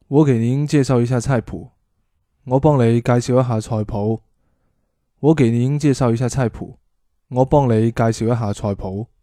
我给您介绍一下菜谱。我幫你介紹一下菜譜。我給您介紹一下菜譜。我幫你介紹一下菜譜。